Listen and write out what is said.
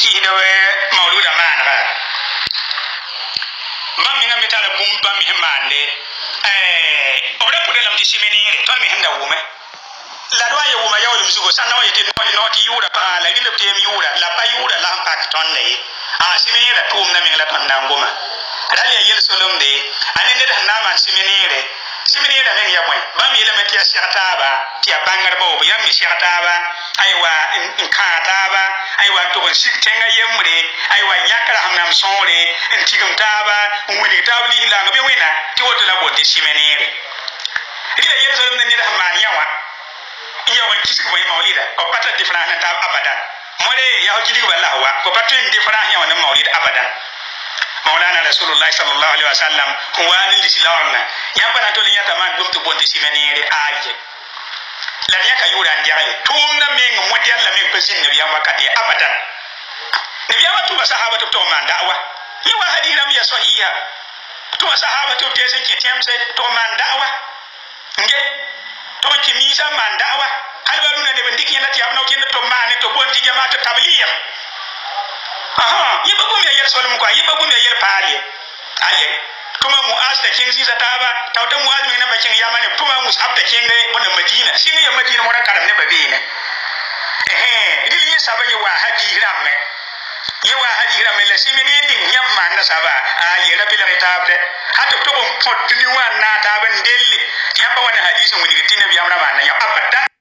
hida mauluda manra mam mi ngambe tala bum bam mi hemande obra pude lam ti simenire ton mi henda wume la do ye wuma yawlum sugo sanna waye tin no ti yura pa la gile tem yura la pa yura la pak ton le simenire tum na mi la ton nangoma rali yel solomde anene da na man simenire men ya moy bam yele metia shartaba ti abangar bo yam mi shartaba aywa in kataba aywa to sik tenga yemre aywa yakra hamnam sore en tigum taba woni tabli la ngabe wena ti woto la bote simenire ila yel solomde ni da man yawa iya wan kisik boy maulida ko pata different na tab abadan more ya jili wala wa ko pata different ya wan maulida abadan maulana rasulullah sallallahu alaihi wasallam wani lislam yamba to linya taman dum to bonde simenere aje la nya ka yura ndiale tumna meng model la meng pesin ne yamba kati abadan ne yamba to sahaba to man da'wa yawa hadira ya sahiha to sahaba to tesen ke temse to man da'wa nge to ki misa man da'wa halbaluna ne bindiki na tiyabna ko to man to bonti jamaatu tabliya yiba gum ya yer solum ko yiba gum ya yer pali aye tuma muaz da king sisa taba tawta muaz mi na bakin yamane tuma musab da king ne bona madina singa ya madina mo ran karam ne babine idil yi sabaye wa hadi ramme ye wa hadi ramme la simini din yamma na saba aye rabbil kitabde hatta to bon podni wa na taban delle yamba wana hadisin woni gitina bi amra man ya abadan